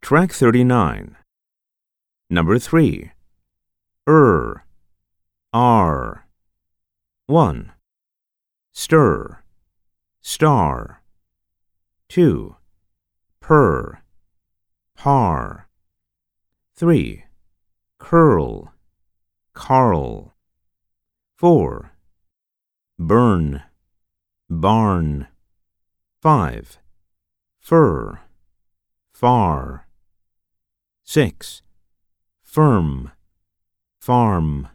Track 39. Number 3. R. 1. Stir, star. 2. Par. 3. Curl, carl. 4. Burn, barn. 5. Fur, far. 6. Firm, farm.